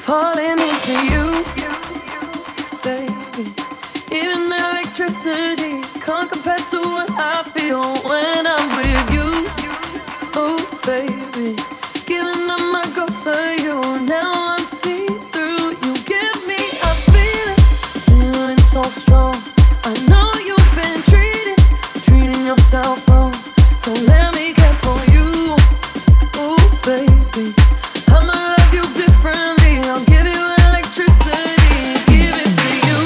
falling into you, baby. Even electricity can't compare to what I feel when I'm with you. Oh, baby, giving up my ghost for you. Now I'm see through. You give me a feeling so strong. I know you've been treating yourself wrong. So let me care for you. Oh, baby, I'ma love you differently. I'll give you electricity, give it to you.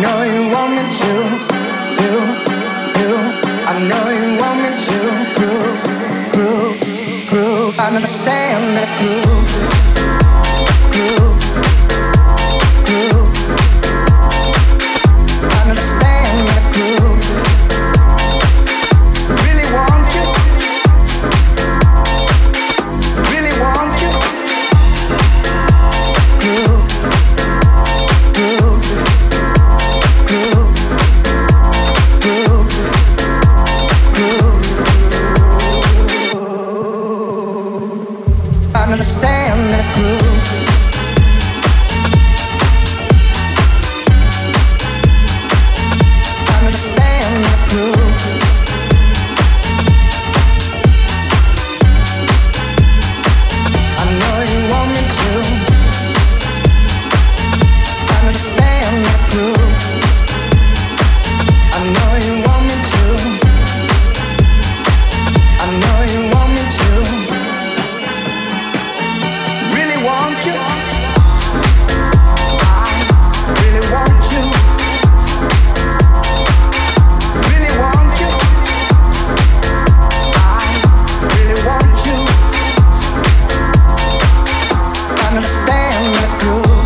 know you want me to, you. I know you want me to groove. Understand this groove. Understand this groove. Really want you. Really want you. Groove. Understand this groove. Understand this groove. I know you want me to. Understand this groove. I know you want me to. I know you want me to. Really want you. I really want you. Really want you. I really want you. Understand this groove.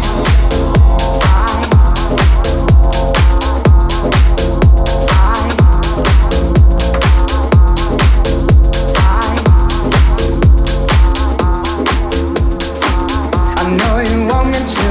I know you want me to.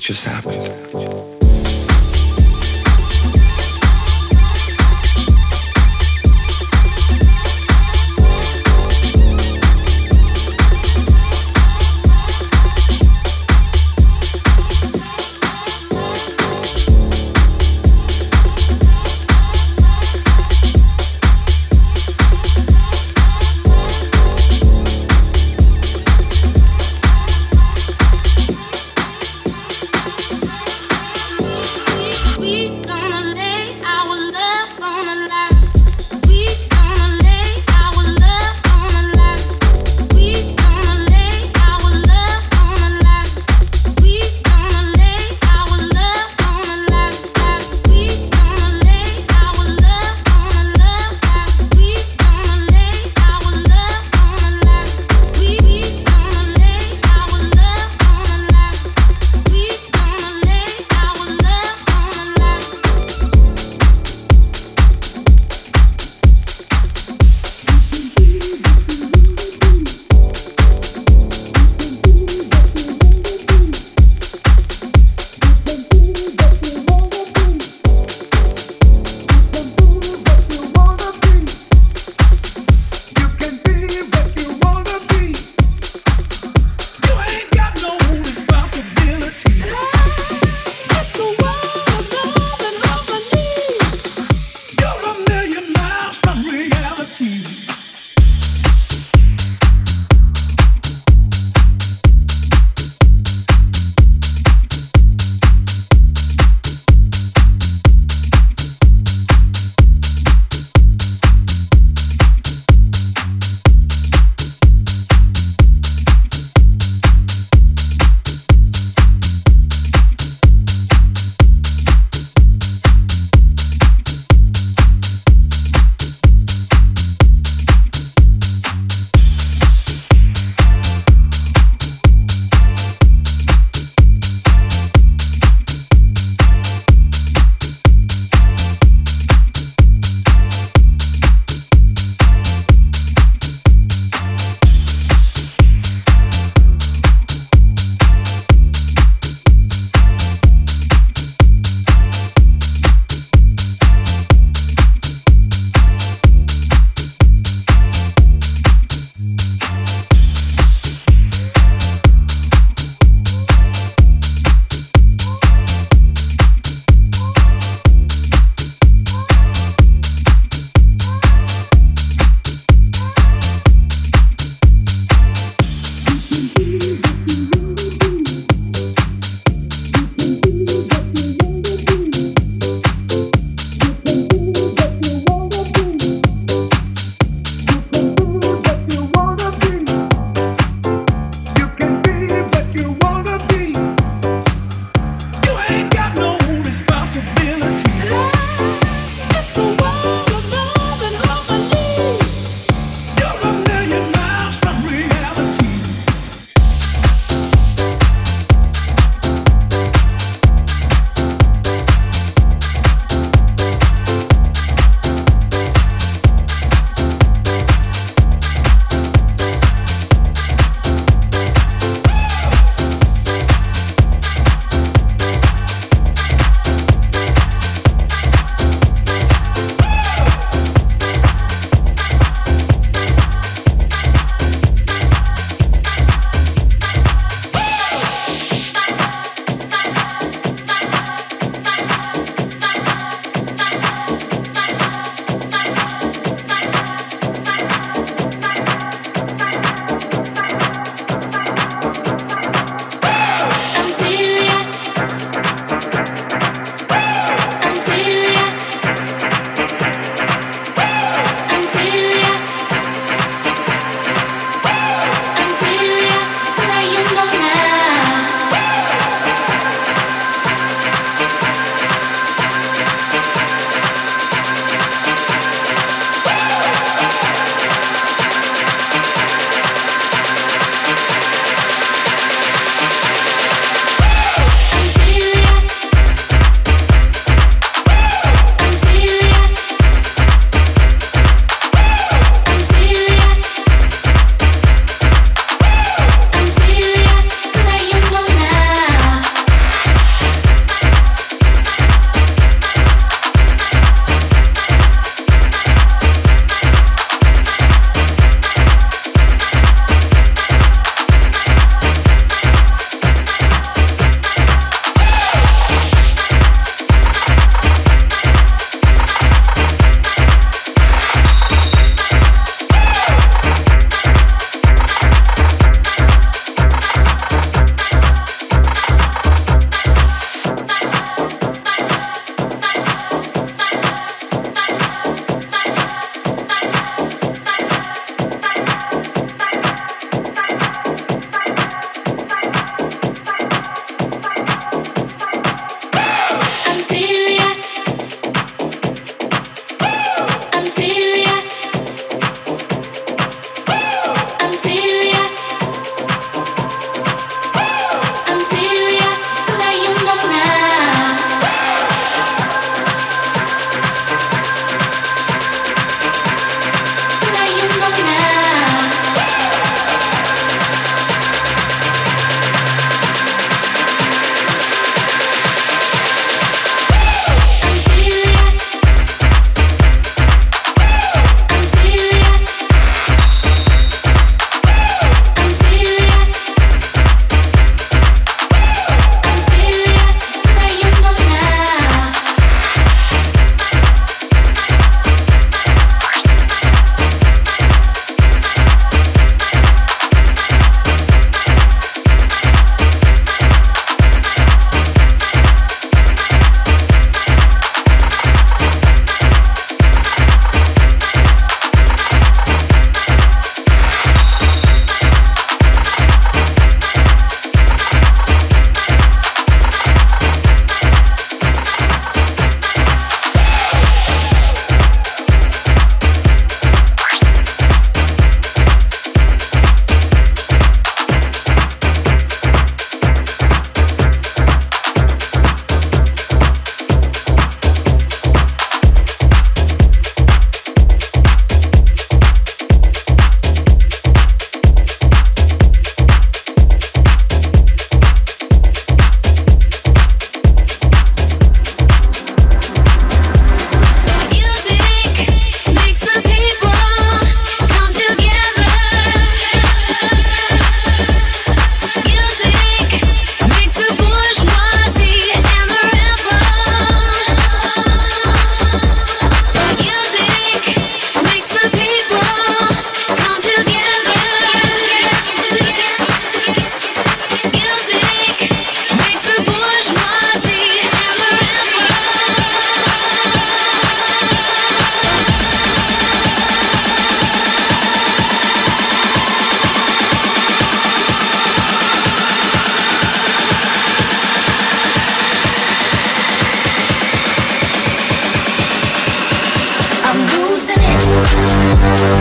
just happened.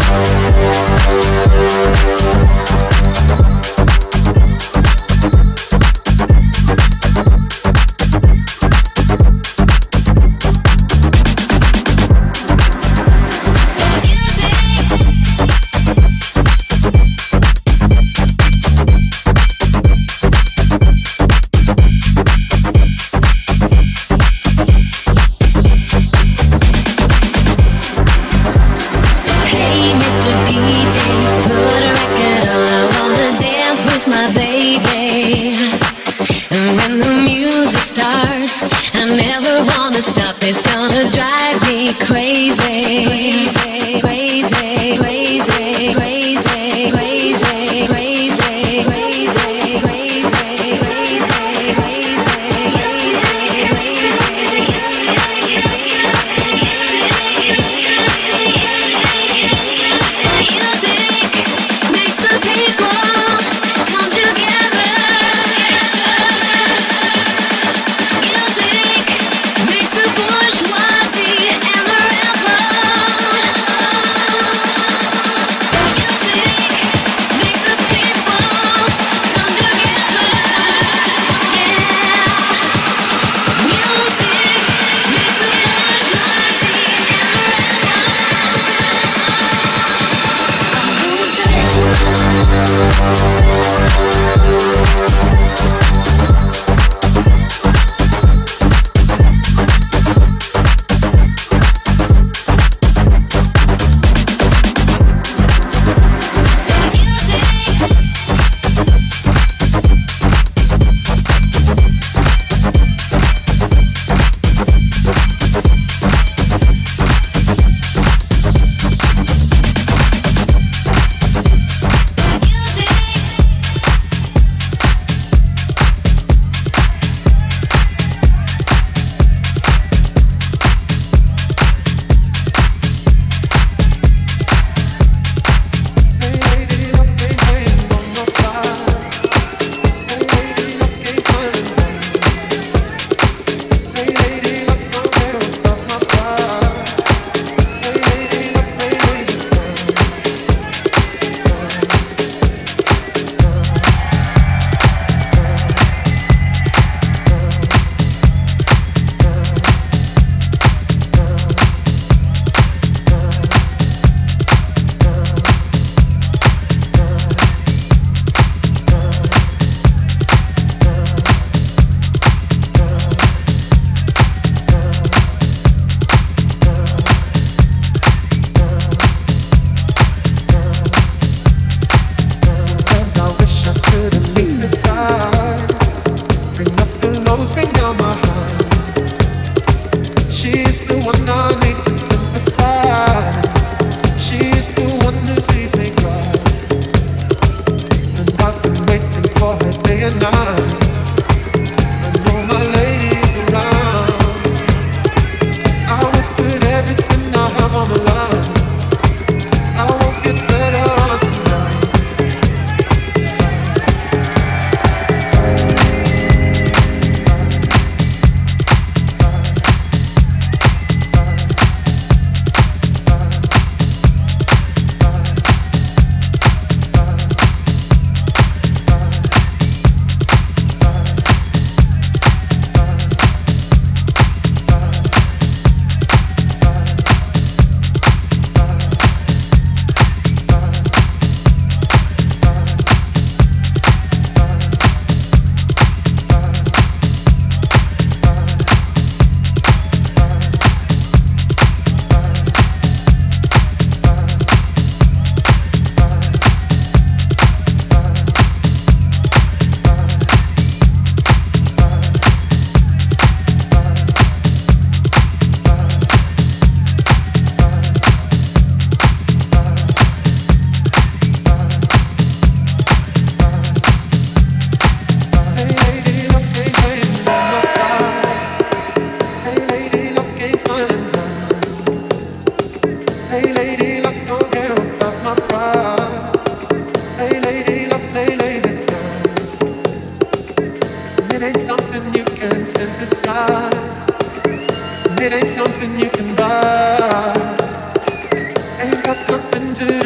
It ain't something you can buy. Ain't got nothing to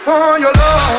for your love.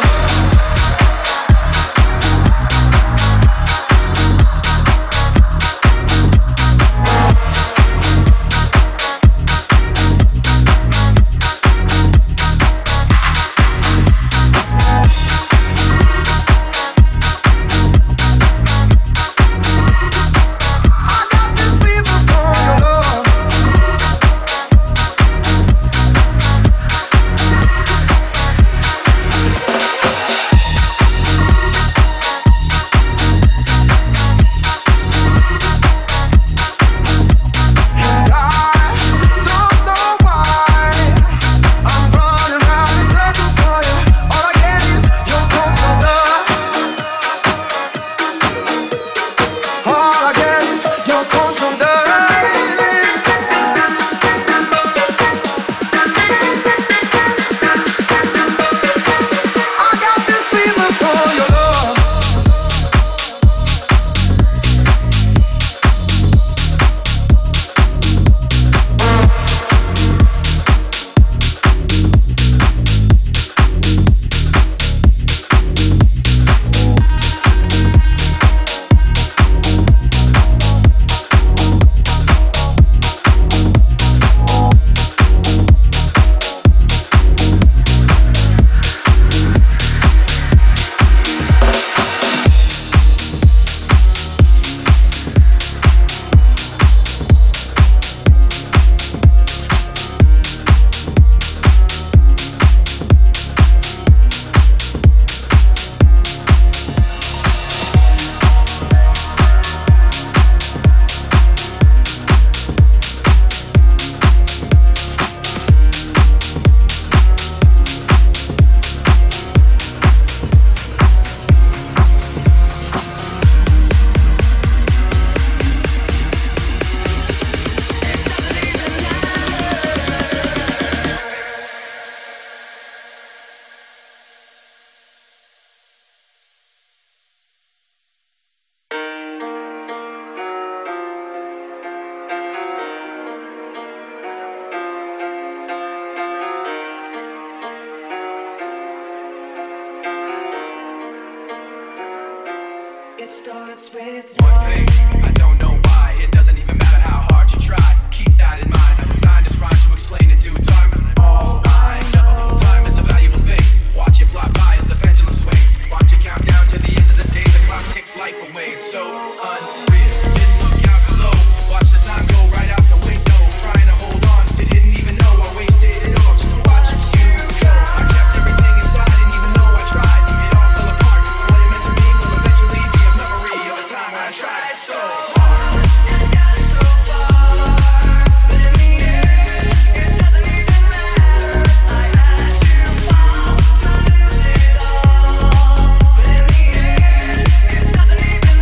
It starts with one thing. I don't know why. It doesn't even matter how hard you try. Keep that in mind. I'm designed this rhyme to explain in due time. All I know, time is a valuable thing. Watch it fly by as the pendulum swings. Watch it count down to the end of the day. The clock takes life away. It's so unreal. Didn't look out below. Watch the time go right out the window. Trying to hold on. Didn't even know I wasted it all just to watch you go. I kept everything inside, and even though I tried, it all fell apart. What it meant to me will eventually be a memory of a time when I tried so hard and got so far, but in the end, it doesn't even matter. I had to fall to lose it all, but in the end, it doesn't even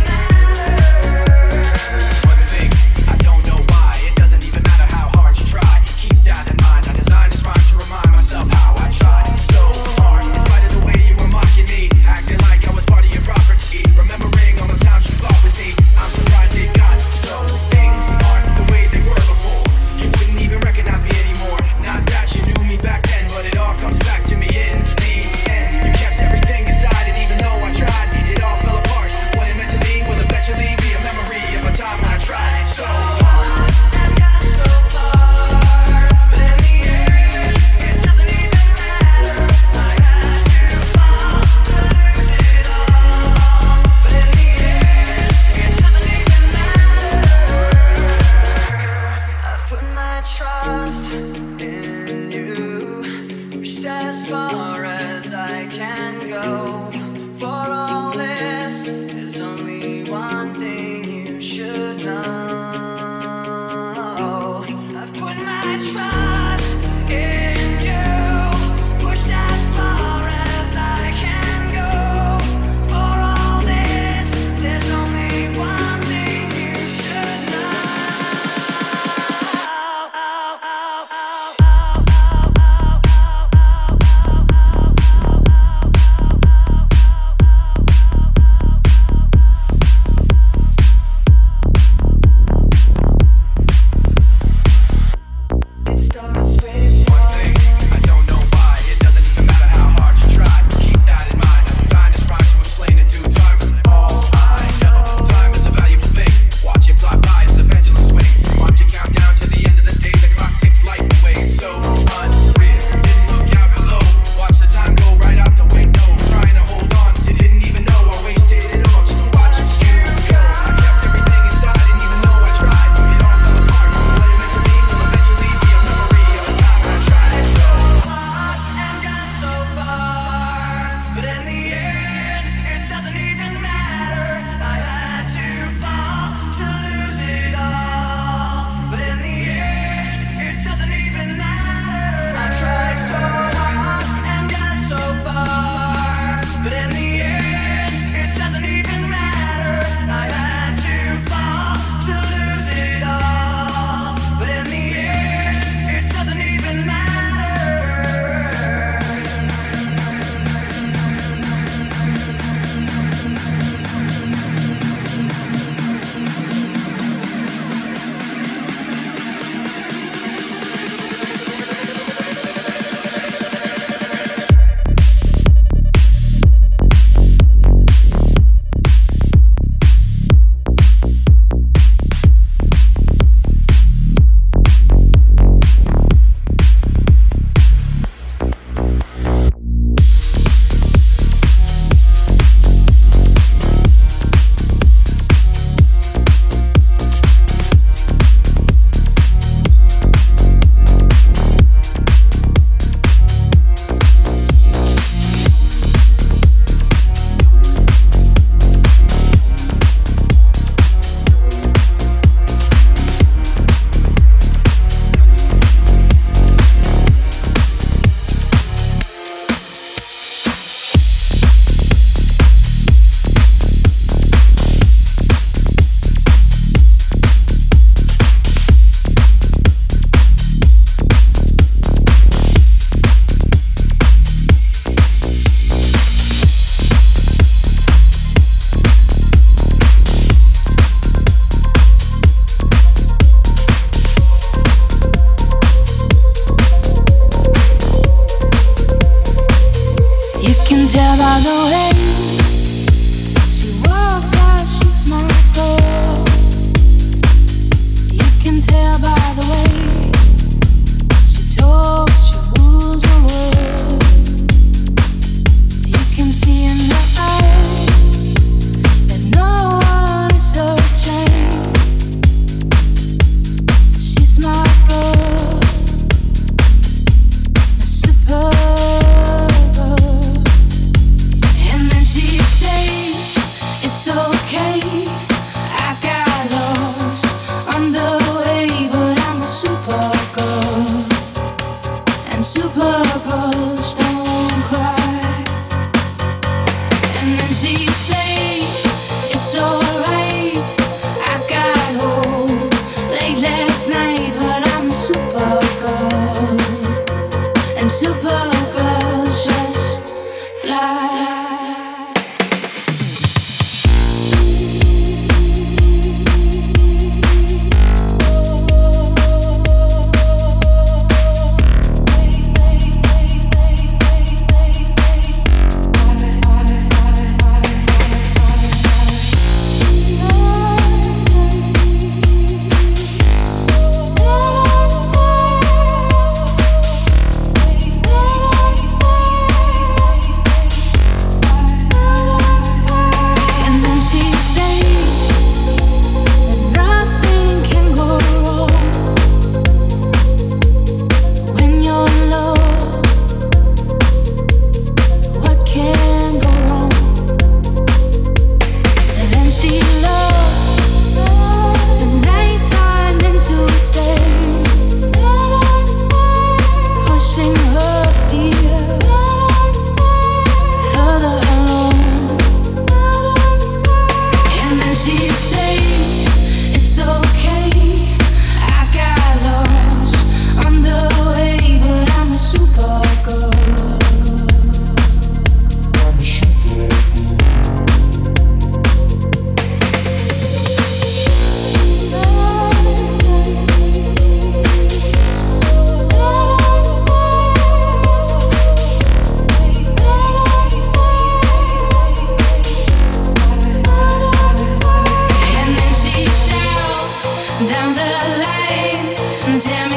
matter. One thing, I don't know why. It doesn't even matter how hard you try. Keep that in mind. I designed this rhyme to remind myself how I tried so hard. In spite of the way you were mocking me, acting like I was part of your property, remembering all the times you fought with me. I'm surprised it got so. Things aren't the way they were before. You wouldn't even recognize me anymore. Not that you knew me back then, but it all comes back to me in the end. You kept everything inside, and even though I tried, it all fell apart. What it meant to me will eventually be a memory of a time when I tried so hard and got so far, but in the end, it doesn't even matter. I had to fall to lose it all, but in the end, it doesn't even matter. I've put my trust in you, pushed as far as I can go. For all this, there's only one thing you should know. I've put my trust in you, pushed as far as I can go. For all this, there's only one thing you should know.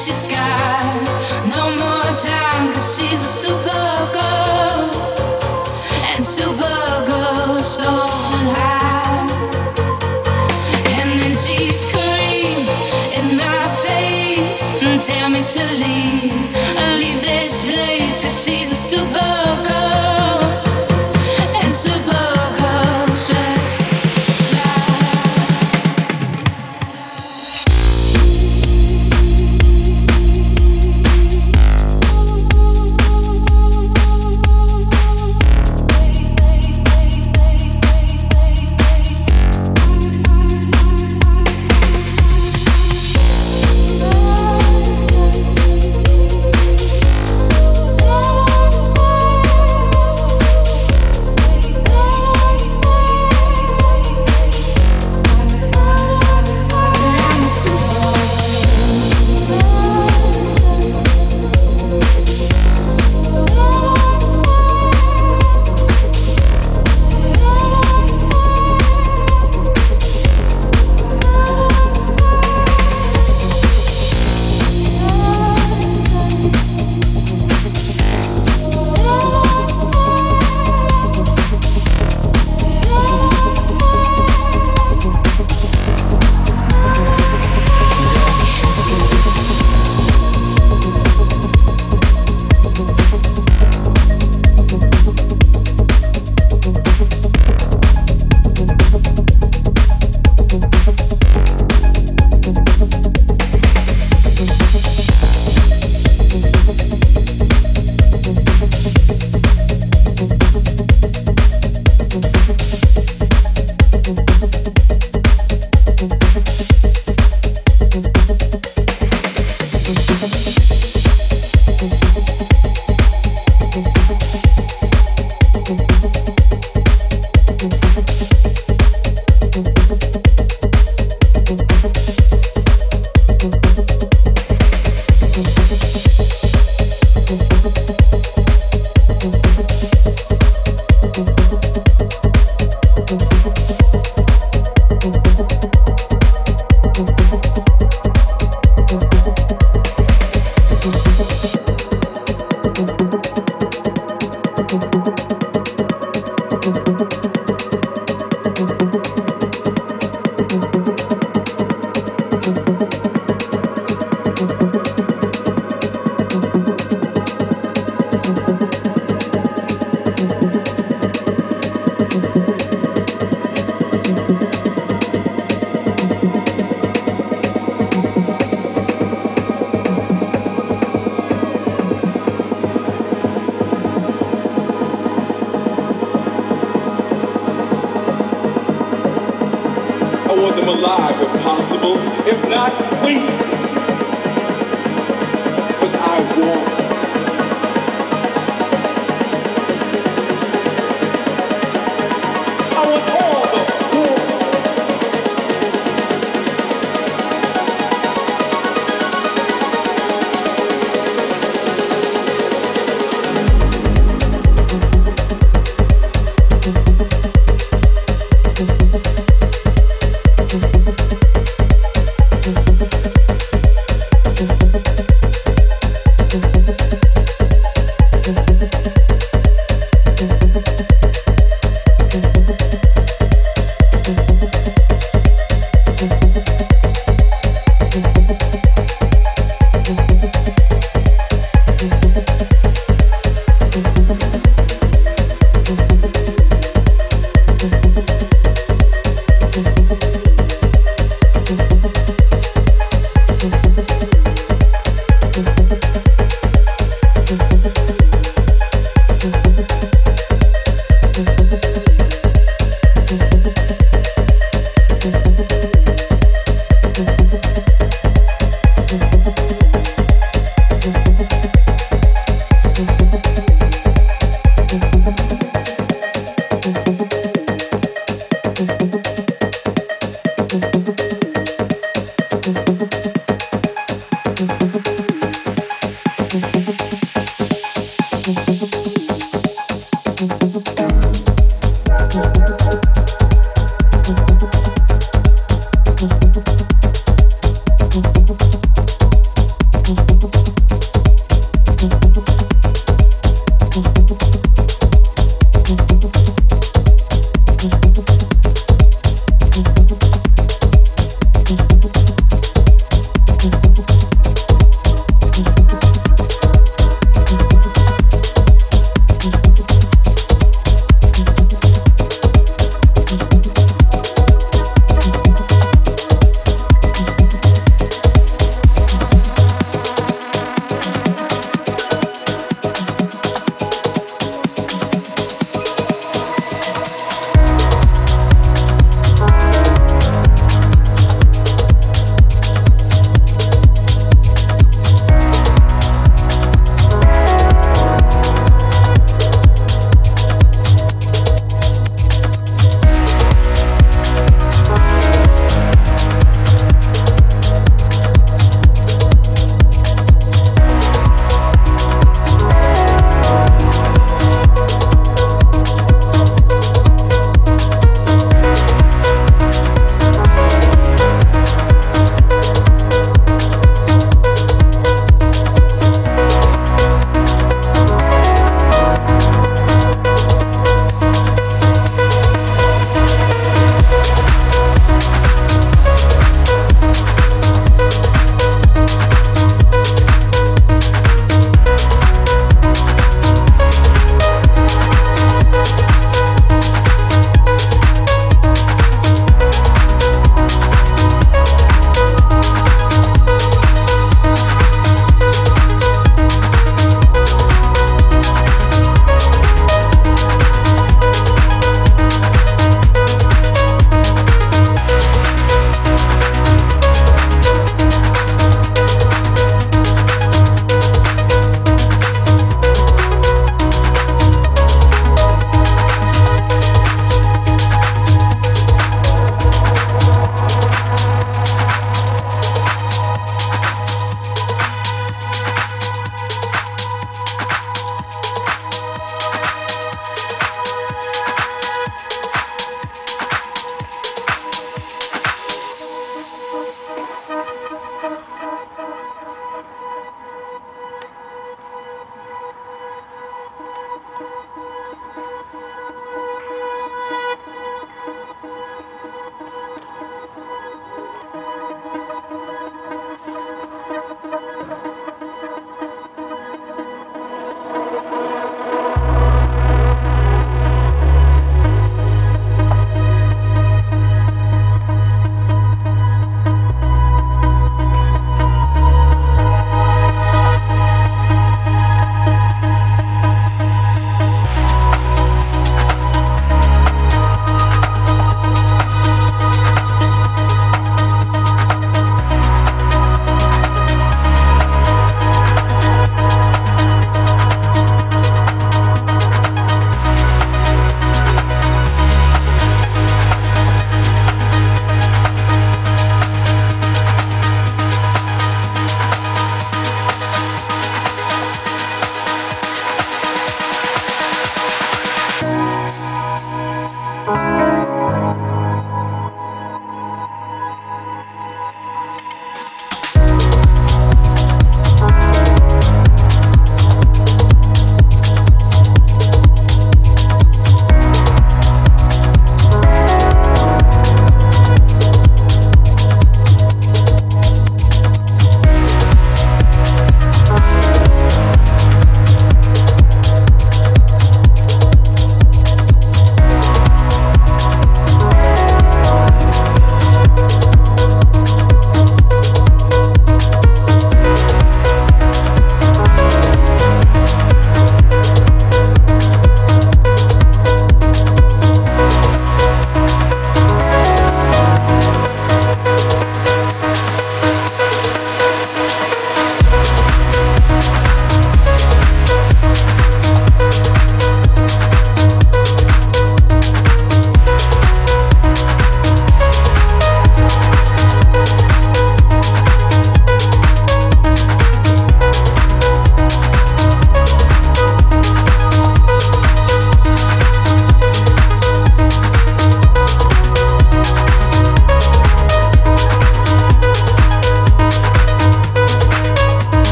she's got no more time, 'cause she's a supergirl, and supergirls don't hide. And then she scream in my face and tell me to leave this place, 'cause she's a supergirl, and supergirls just